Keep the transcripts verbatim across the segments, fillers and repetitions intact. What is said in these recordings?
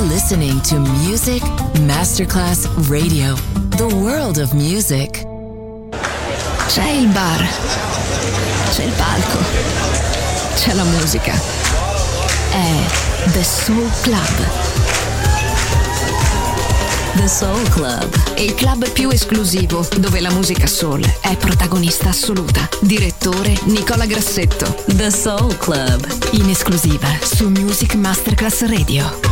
listening to Music Masterclass Radio, the world of music. C'è il bar, c'è il palco, c'è la musica. È The Soul Club. The Soul Club, il club più esclusivo dove la musica soul è protagonista assoluta. Direttore Nicola Grassetto. The Soul Club, in esclusiva su Music Masterclass Radio.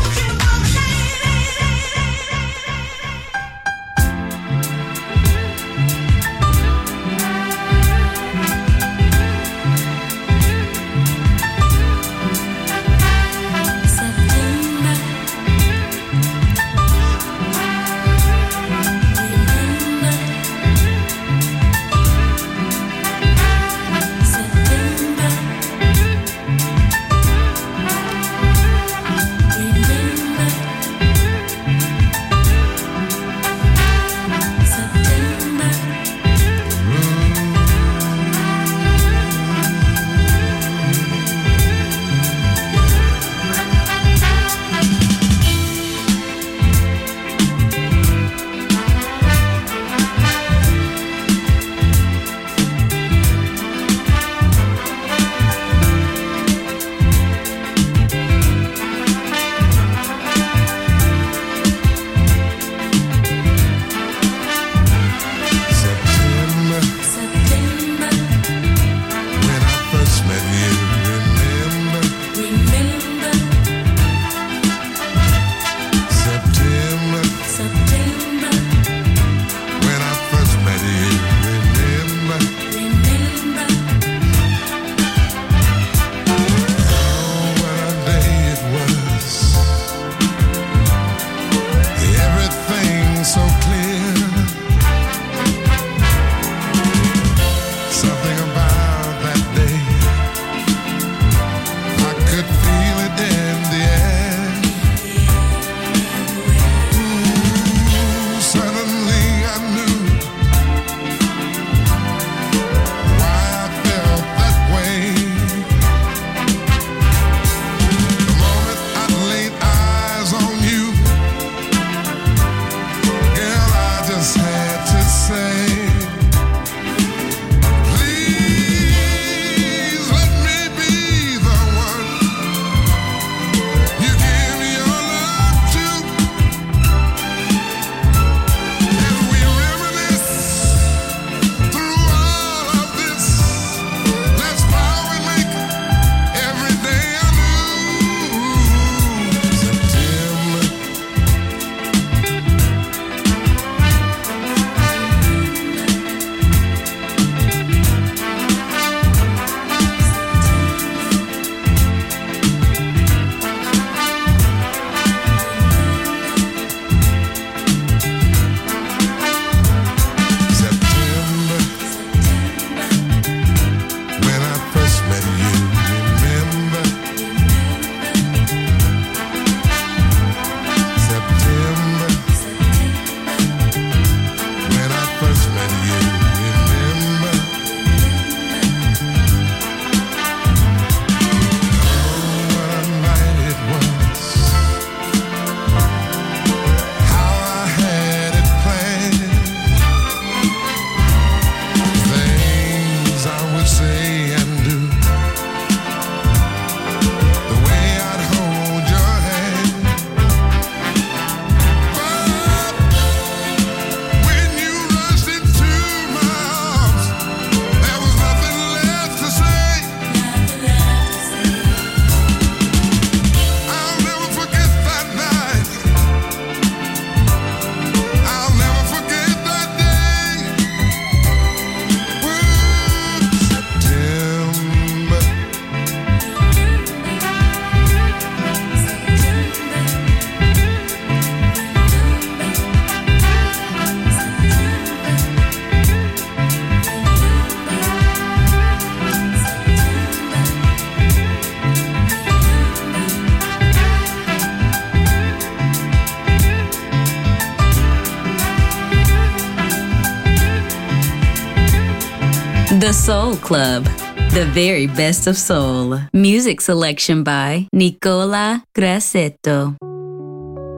The Soul Club, the very best of soul. Music selection by Nicola Grassetto.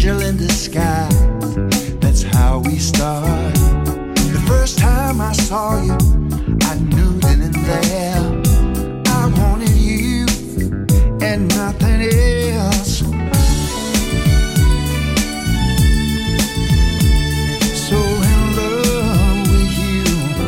angel in the sky. That's how we start. The first time I saw you, I knew then and there I wanted you and nothing else. So in love with you.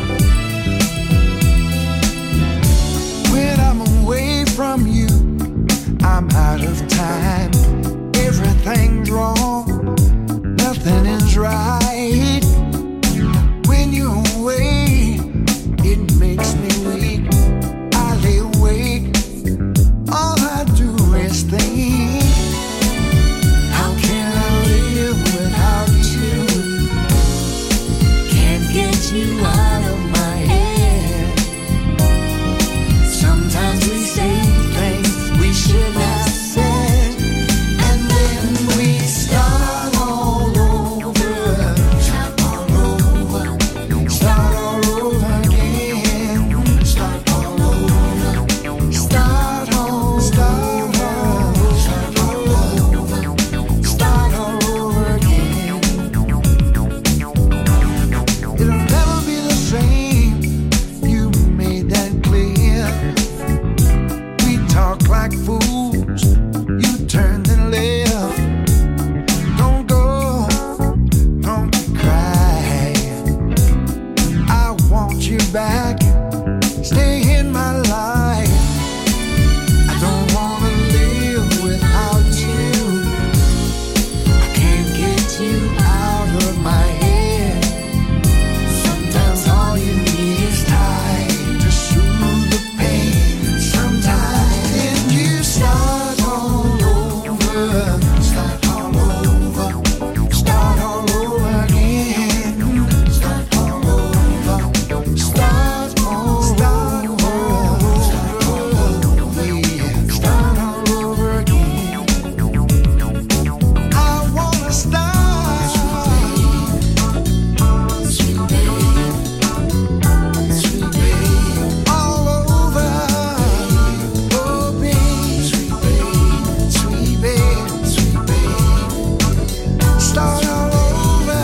When I'm away from you, I'm out of time. Everything's wrong, nothing is right. When you're away, it makes me weak. I lay awake, all I do is think. How can I live without you? Can't get you out of my head. Sometimes we say things we should not say, and then we start all over, start all over, start all over again, start all over, start all, start all, start all over, start all over again. It'll never be the same. You made that clear. We talk like fools. You turned and left. Don't go, don't cry. I want you back. Stay in my life. I don't wanna live without you. I can't get you out of my head. Sometimes all you need is time to soothe the pain. Sometimes then you start all over, start all over, start all over again, start all over, start all, start over, start all over, yeah, start all over again. I wanna start, sweet babe, sweet babe, all over, oh babe, sweet babe, sweet babe, sweet babe, start all over,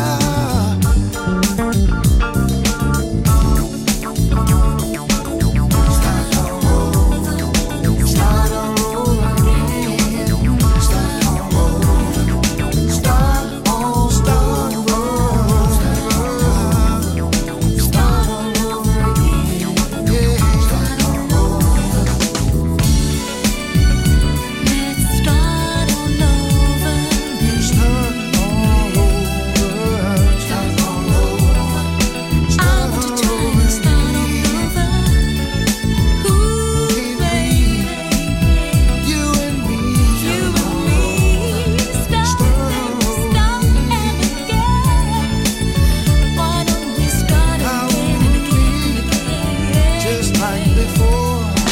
start all over, start all over again, start all over, start all, start over, start all over again, yeah, start all over. Let's start all over, baby. Start all over, start all over, I start want to all try over and start all again. over. Ooh, baby, You and me, you and me, stop, stop and again. Why don't we start How again and again and again? just like before.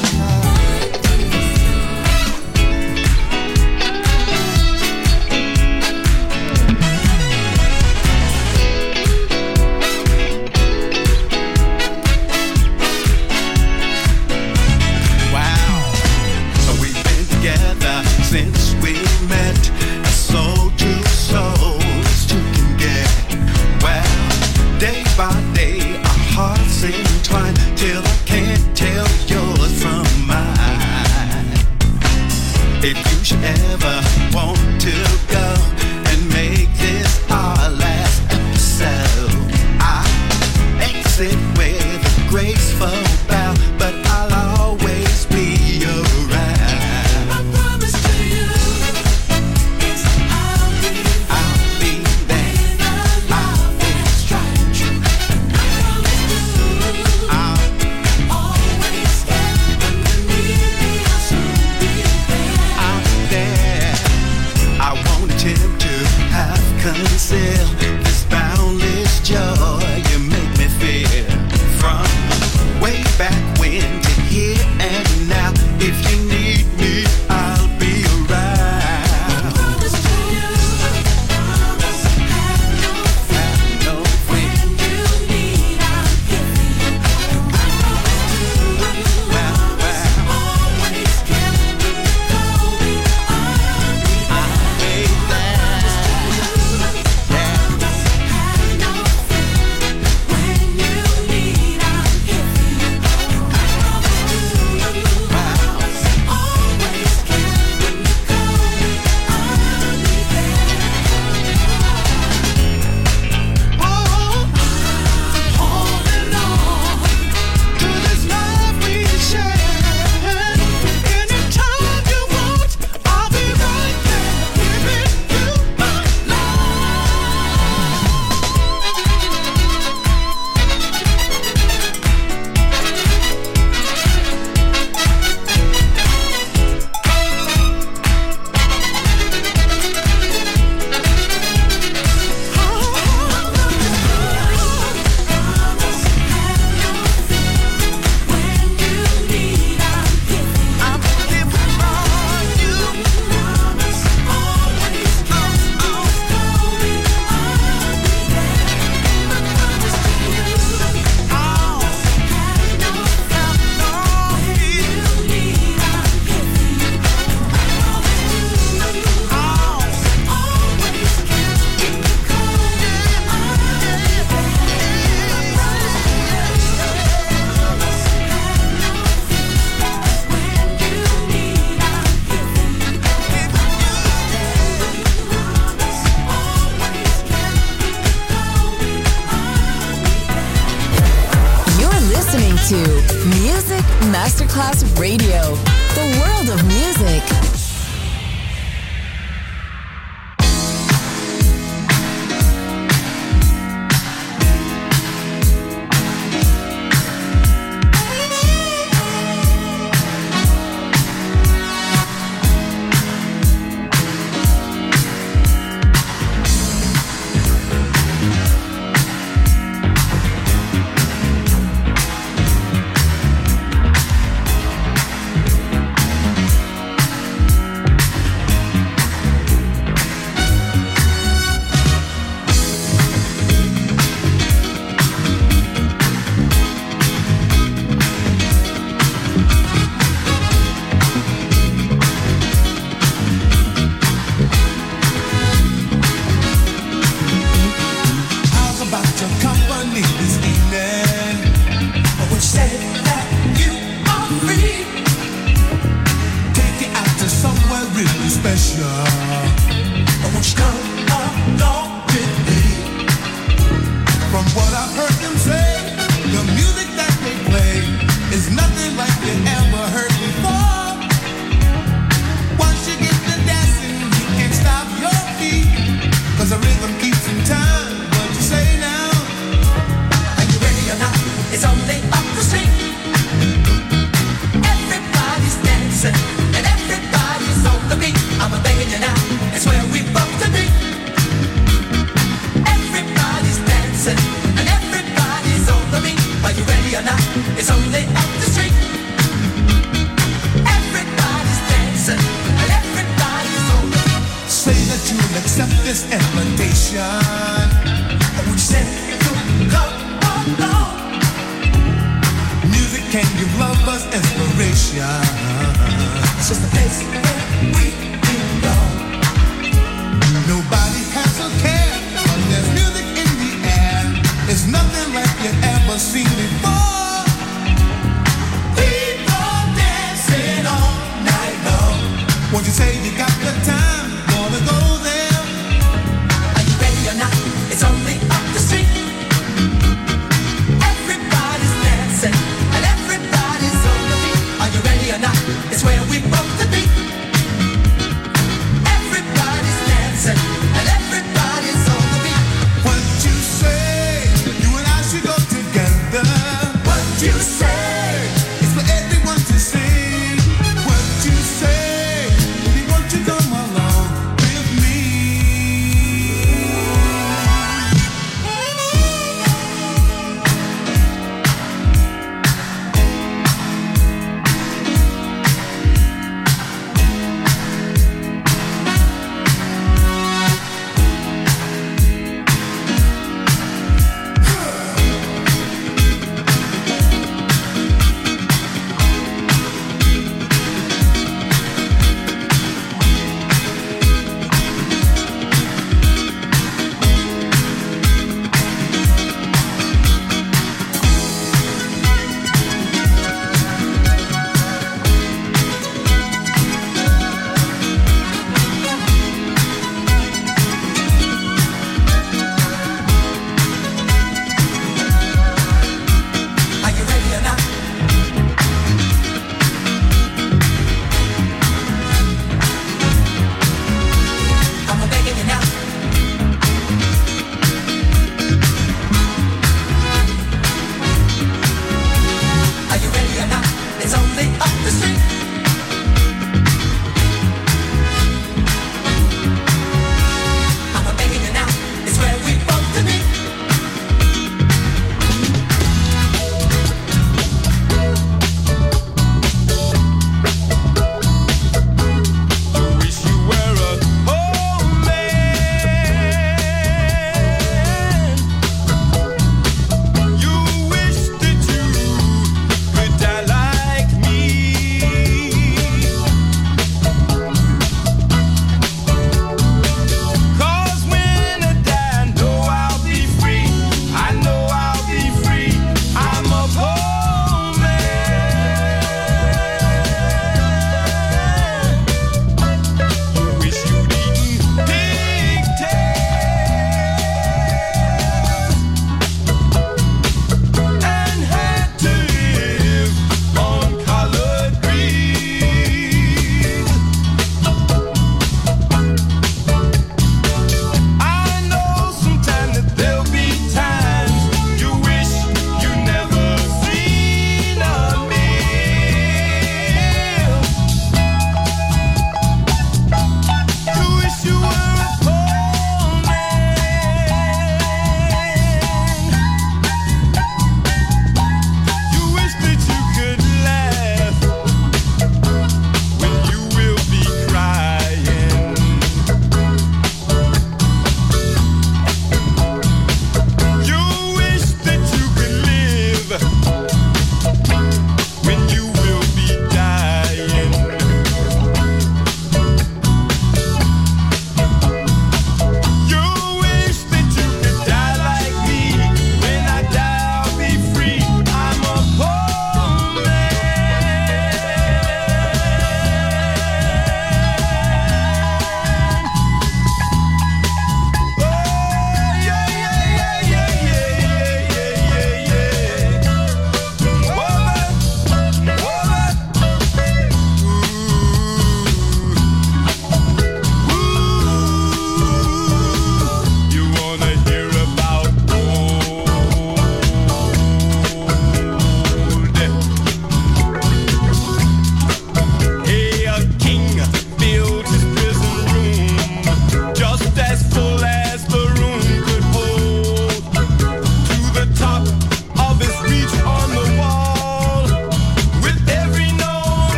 Wow. So we've been together since we met. Soul to soul as two can get. Well, day by day our hearts entwine till I can't tell yours from mine. If you should ever want to go and make this our last episode, I exit with a graceful bow, but I'll always be around. My promise to you is I'll be I'll be there. with a love that's tried and true. I promise to I'll, always stand when you need me. I'll soon be there. I'm there. I won't attempt to have conceal this boundless joy you make me feel. From way back when to here and now, if you need me, I'll be around. Promise to you, promise have no fear. Have no When fear. you need, I'm here for you. I promise to Well, well, always care when you call me. I'll be I'll be there. Music Masterclass Radio. The world of music.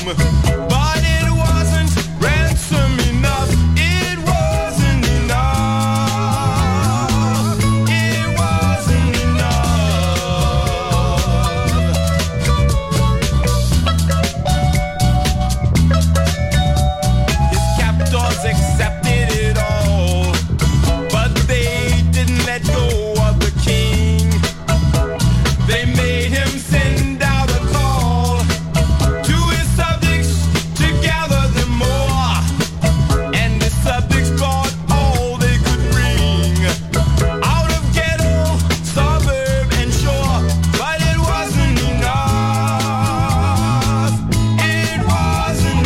but it wasn't ransom enough. It wasn't enough. It wasn't enough. His captors accepted it all, but they didn't let go of the king. They made him send out a call to his subjects to gather them more, and the subjects brought all they could bring out of ghetto, suburb, and shore. But it wasn't enough. It wasn't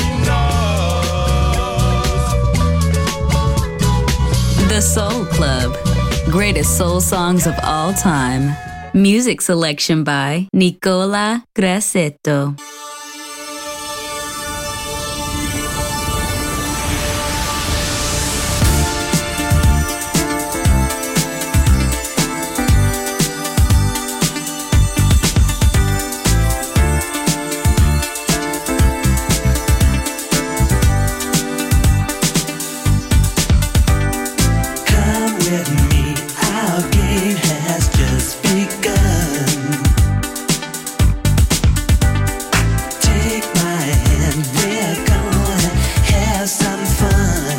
enough. The Soul Club. Greatest soul songs of all time. Music selection by Nicola Grassetto. Come with me, our game has just begun. Take my hand, we're gonna have some fun.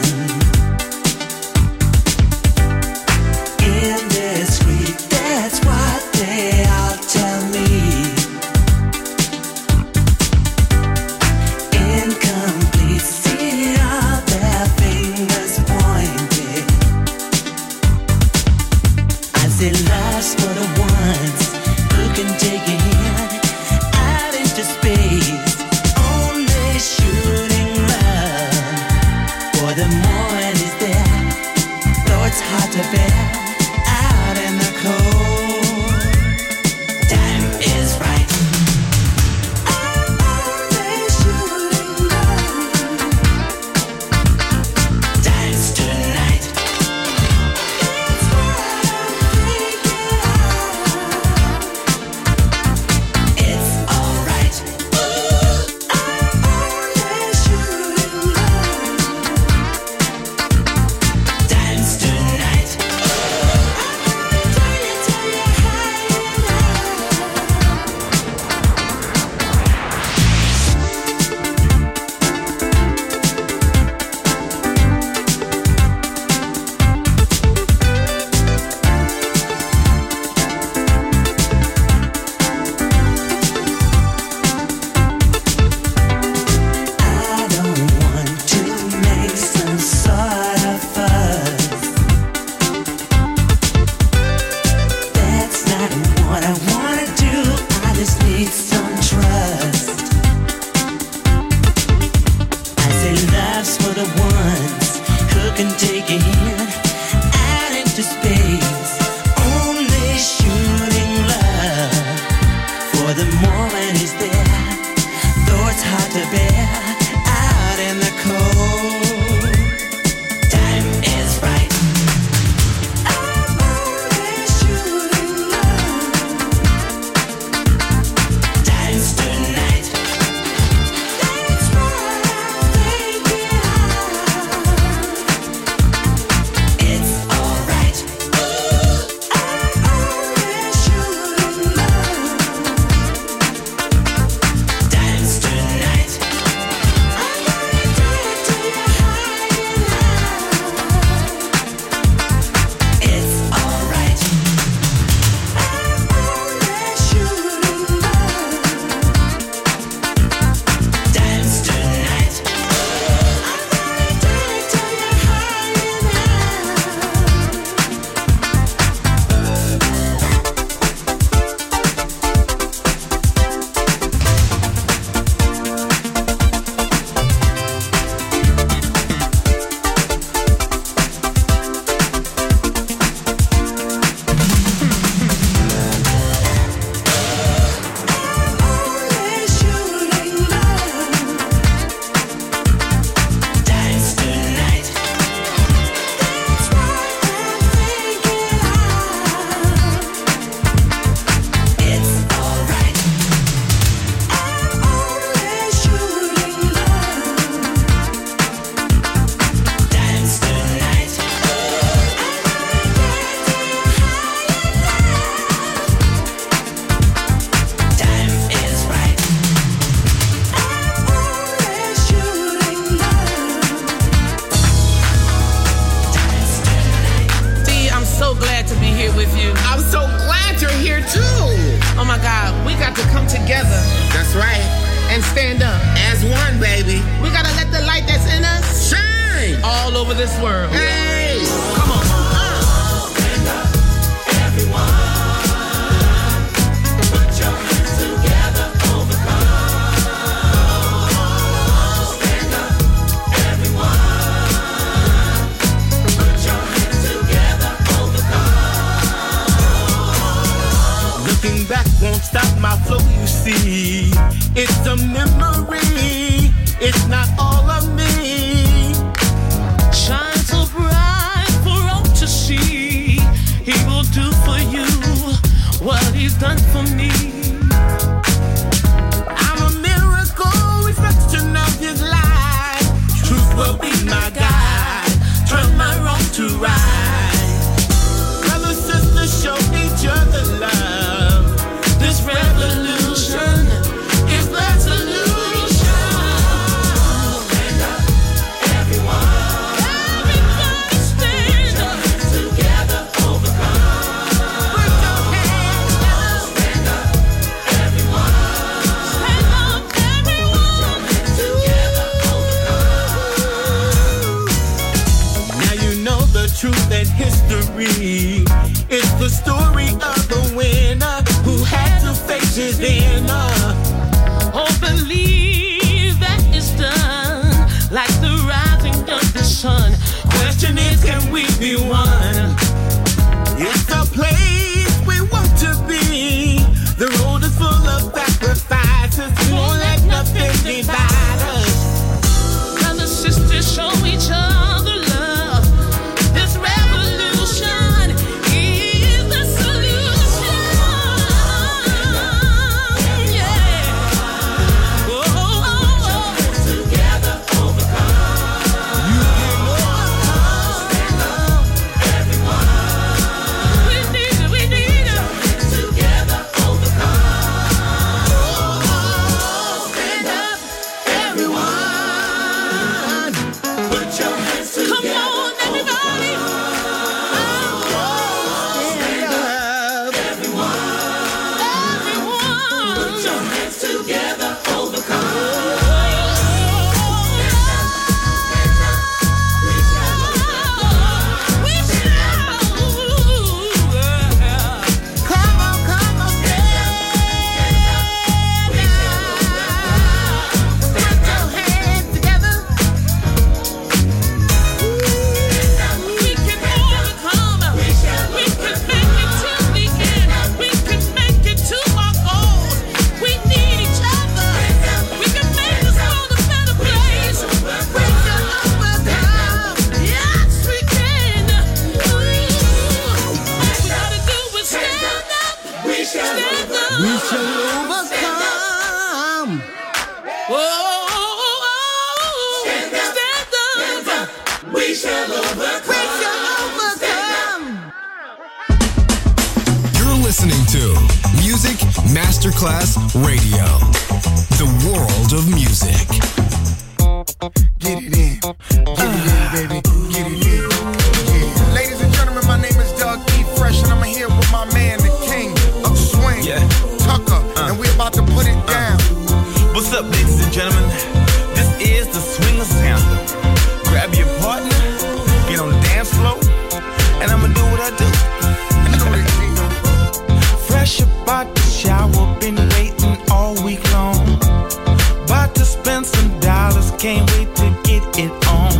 Indiscreet, that's what they all tell me. Incomplete, see all their fingers pointed. I say love's for the ones who can take your hand out into space. Only shooting love for the moment is there, though it's hard to bear out in the cold. Time is right. I'm only shooting love. Dance tonight. It's what I'm thinking of. It's alright. I'm only shooting love. Dance tonight. I'm gonna tell you, tell you how you I don't want to make some sort of fuss. That's not what I wanna do. I just need some trust. I say love's for the ones who can take a hand out into space. Only shooting love for the moment is there, though it's hard to bear out in the cold. Time is right. I'm only shooting love. Dance tonight. That's what I'm thinking of. It's alright. I'm only shooting love. Dance tonight. over this world. Hey, come on. Stand up, everyone. Put your hands together, overcome. Stand up, everyone. Put your hands together, overcome. Looking back won't stop my flow, you see. It's a memory, it's not all of me. Shine so bright for all to see. He will do for you what he's done for me. I'm a miracle, reflection of his life. Truth will be my guide, turn my wrong to right. Brothers, sisters, show each other love. This revolution is the solution. Stand up, everyone. Everybody stand up. Together, overcome. Put your hands up. Stand up, everyone. Stand up, everyone. Together, overcome. Now you know the truth and history. It's the story of the winner who had to face his inner. Oh, believe that it's done, like the rising of the sun. Question is, can we be one? It's a place we want to be. The road is full of sacrifices. We won't let nothing divide us. Brothers, sisters, show each other love. This revolution is the solution. Yeah. Oh, oh, oh. Together, overcome. You can overcome. Stand up, everyone. We need it, we need it. Together, overcome. Stand up, everyone. Put your hands Come together. on, everybody. Stand up, everyone. Everyone. Put your hands together, overcome. We shall. Come on, come on, stand. Put your hands together. We can overcome. We can make it till the end. We can make it to our goals. We need each other. We can make this world a better place. We can overcome. Yes, we can. All we gotta do is stand up. We shall Stand overcome. up. We shall overcome. Oh, stand up. We shall overcome. We shall overcome. You're listening to Music Masterclass Radio, the world of music. Get it in, get it in, baby, get it in. Yeah. Ladies and gentlemen, my name is Doug E. Fresh, and I'm here with my man, the king of swing, Yeah. Tucker, and we're about to put it down. What's up, ladies and gentlemen? This is the Swingers Anthem. Grab your partner, get on the dance floor, and I'ma do what I do. You know this, G. Fresh about the shower, been waiting all week long. About to spend some dollars, can't wait to get it on.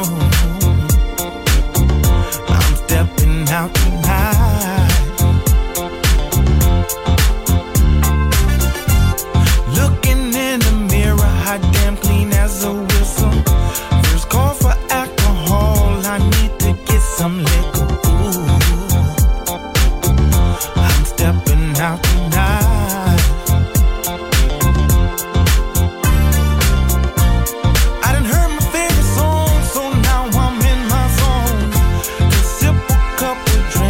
I'm stepping out tonight. Looking in the mirror, hot damn clean as a whistle. First call for alcohol, I need to get some liquor. Ooh. I'm stepping out tonight. I done heard my favorite song, so now I'm in my zone. To sip a couple drinks.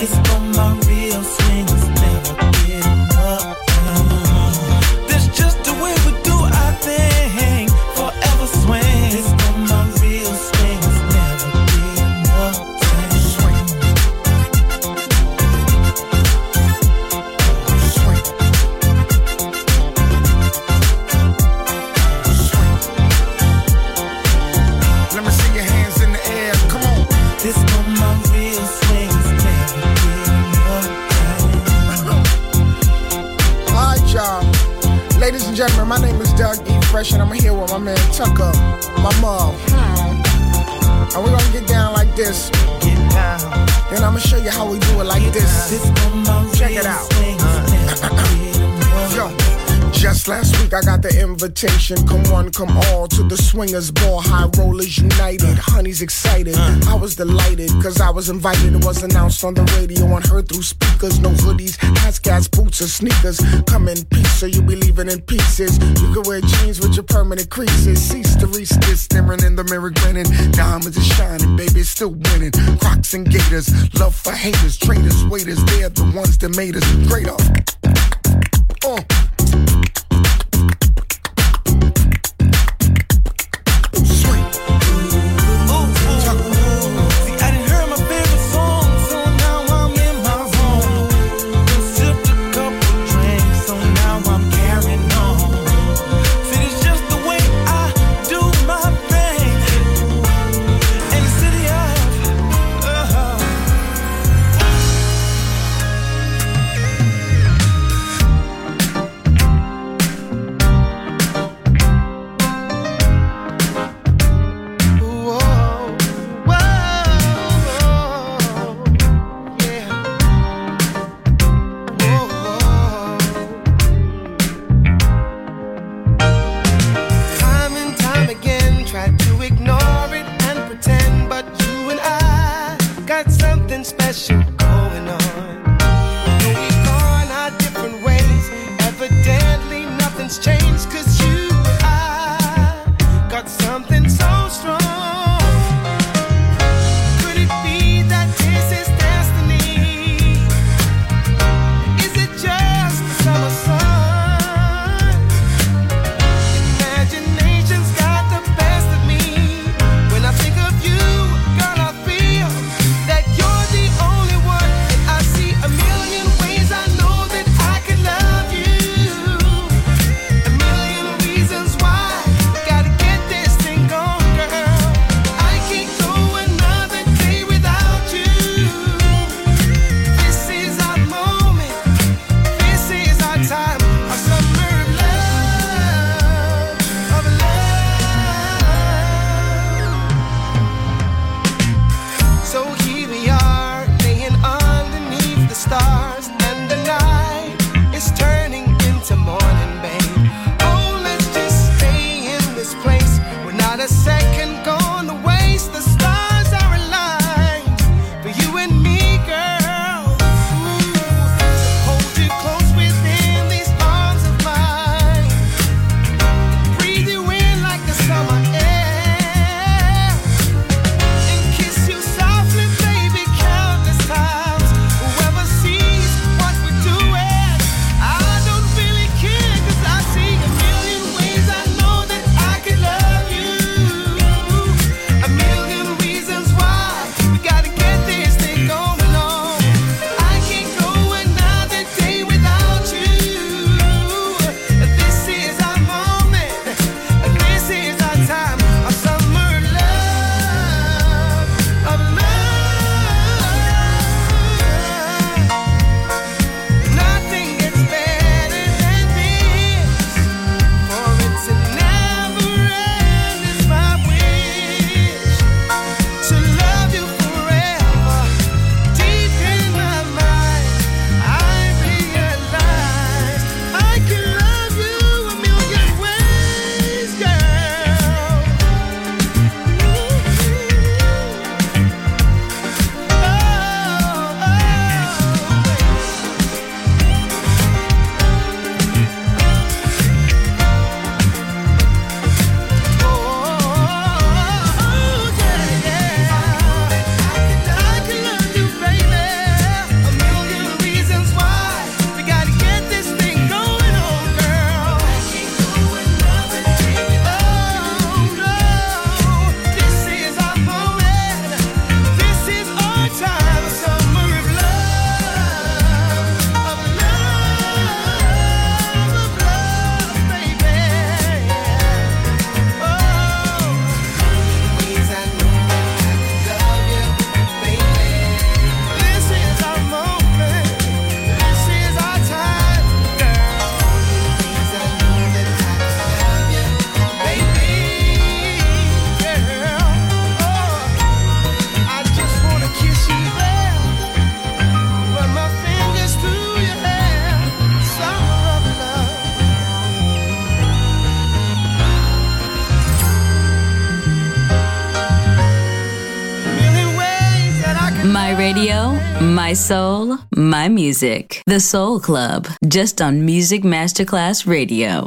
It's for my real swingers, never getting up. That's just the way we do our thing. Forever swing. It's for my real swingers, never getting up. Swing. Swing. Swing. Let me see your hands in the air. Come on. This for my real swingers, never getting up. All right, y'all. Ladies and gentlemen, my name is Doug E. Fresh, and I'm here with my man Tucker, my mom. And we're gonna get down like this. Get down. Then I'm gonna show you how we do it like this. This Check it out. Yo. Just last week I got the invitation. Come one, come all to the swingers ball. High rollers united. Honey's excited. I was delighted cause I was invited. It was announced on the radio and heard through speakers. No hoodies, hats, gas, boots, or sneakers. Come in peace so you be leaving in pieces. You can wear jeans with your permanent creases. Cease to reach this, staring in the mirror grinning. Diamonds are shining, baby, it's still winning. Crocs and gators, love for haters. Traitors, waiters, they're the ones that made us great off. Uh. My soul, my music. The Soul Club, just on Music Masterclass Radio.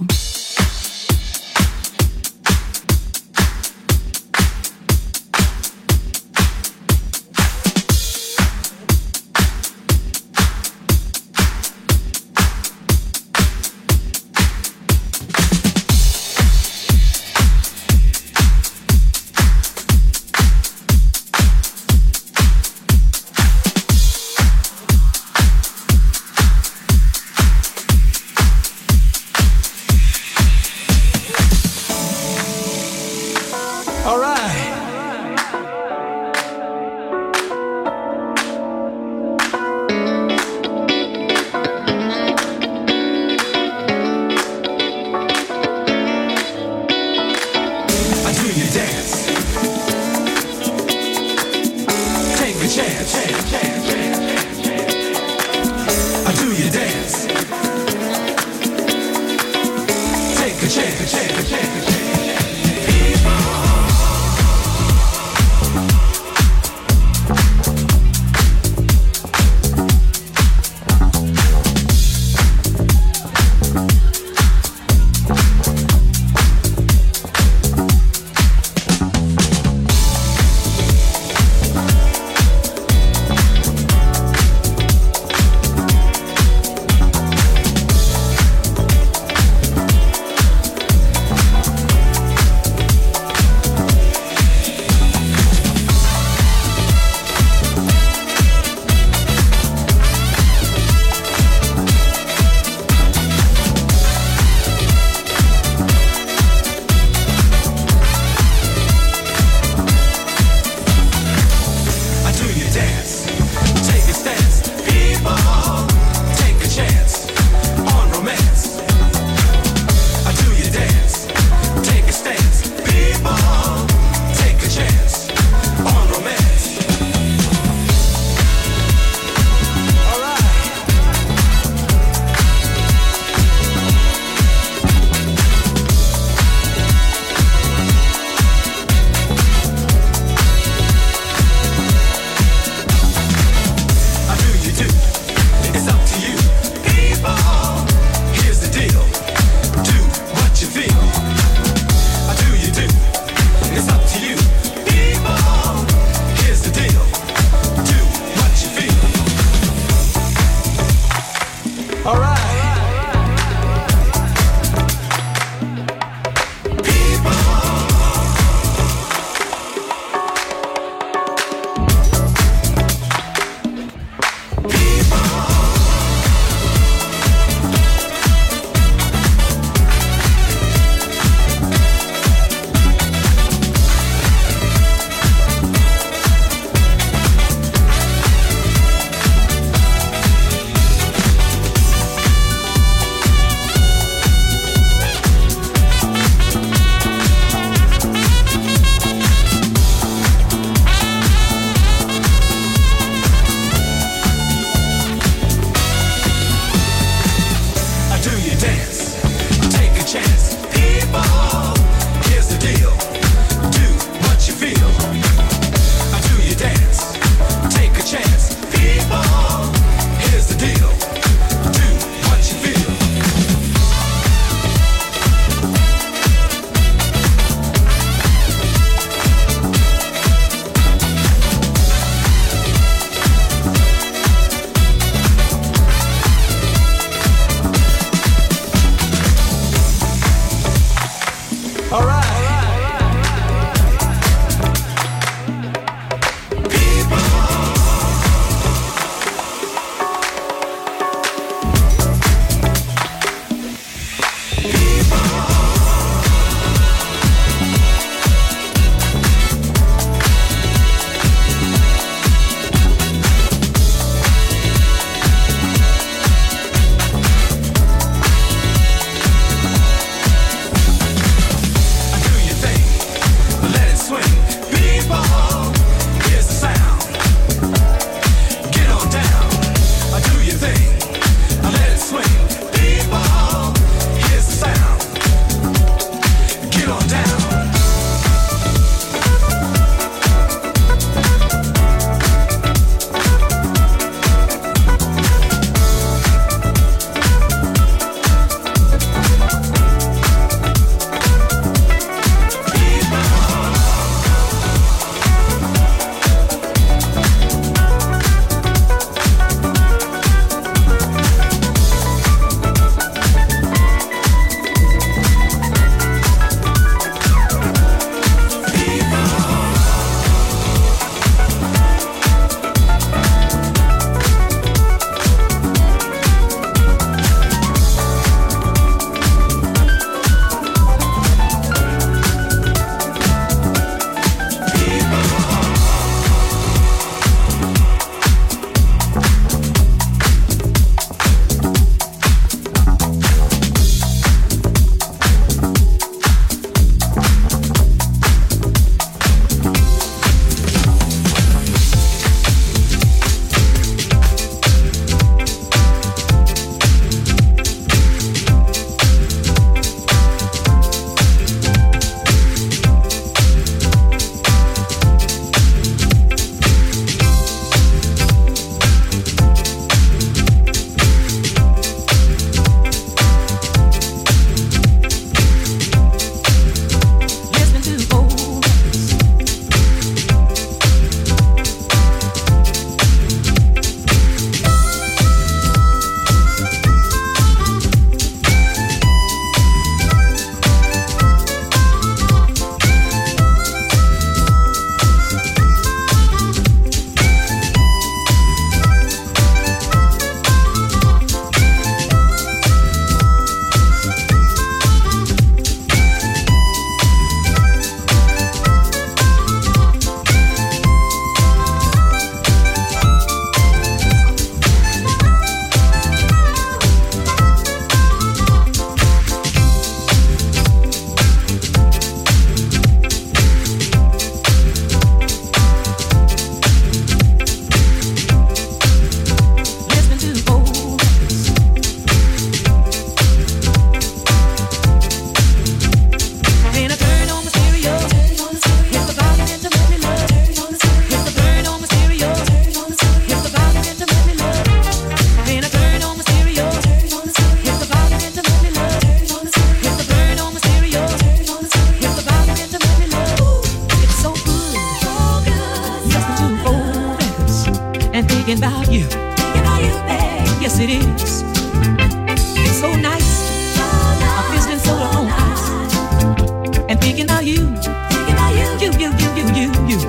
Yes, it is. It's so nice. I'm feeling so on ice. And thinking about you. Thinking about you. You, you, you, you, you, you.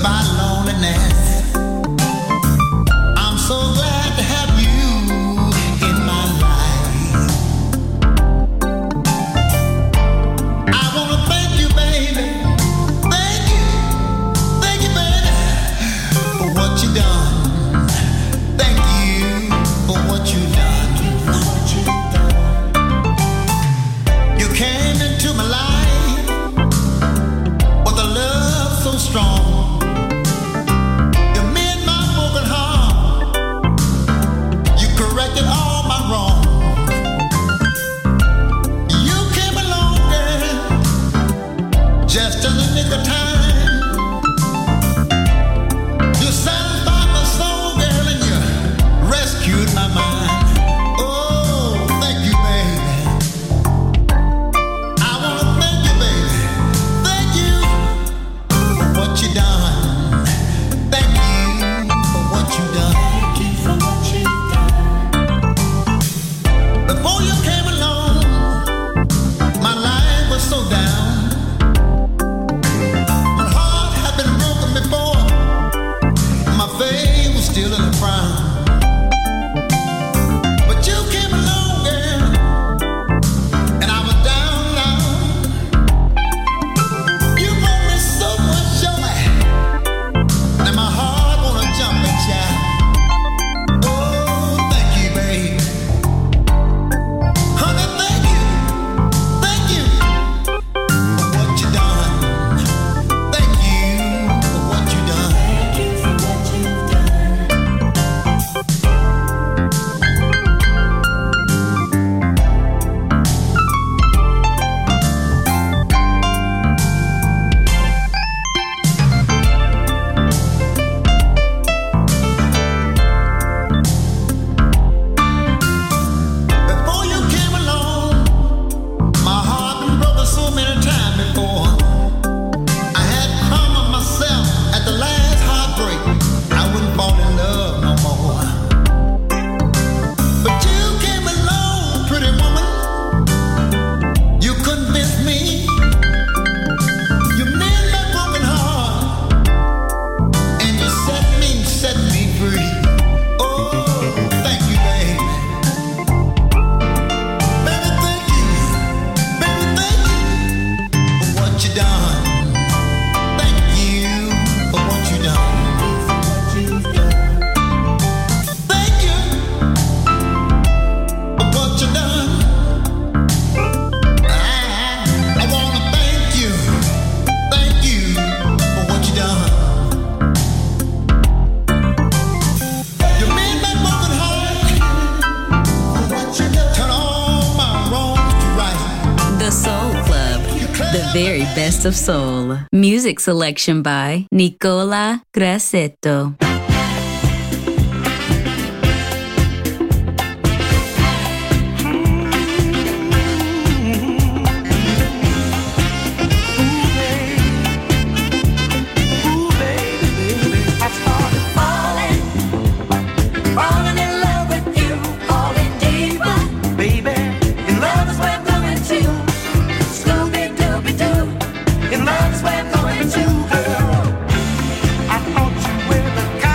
by loneliness. I'm so glad to have you in my life. I wanna thank you, baby. Thank you, thank you, baby, for what you done. Thank you for what you done. You came into my life with a love so strong. You mend my broken heart. You corrected all my wrong. You came along, girl, just in the nick of time. You satisfied my soul, girl, and you rescued my mind. Oh, thank you, baby. I wanna thank you, baby. Thank you for what you done. Thank you for what you done. Thank you for what you done. Before you came along, my life was so down. My heart had been broken before. My faith was still in a frown. But you came along, girl, and I was down now. You brought me so much joy, and my heart wanna jump and shout. Oh, thank you, babe. Honey, thank you, thank you for what you done. Thank you for what you done. Thank you for what you've done. Before you came along, my heart been broken so many times before. I had promised myself at the last heartbreak I wouldn't fall in love no more. But you came along, pretty woman. You convinced me. You mend my broken heart, and you set me, set me free. Oh, thank you, babe. Baby, thank you. Baby, thank you for what you done. Thank you for what you done. Thank you for what you done. I, I wanna thank you. Thank you for what you done. You made my broken heart. Turn all my wrongs to right. The Soul Club, the very best of soul. Music selection by Nicola Grassetto. I started falling, falling in love with you, falling deeper. Baby, in love is where I'm going to. Scooby Dooby Doo, in love is where I'm going to, girl. I thought you were the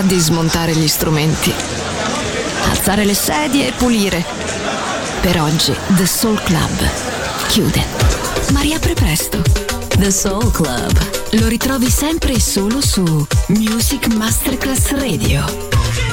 di smontare gli strumenti, alzare le sedie e pulire. Per oggi The Soul Club chiude, ma riapre presto. The Soul Club. Lo ritrovi sempre e solo su Music Masterclass Radio.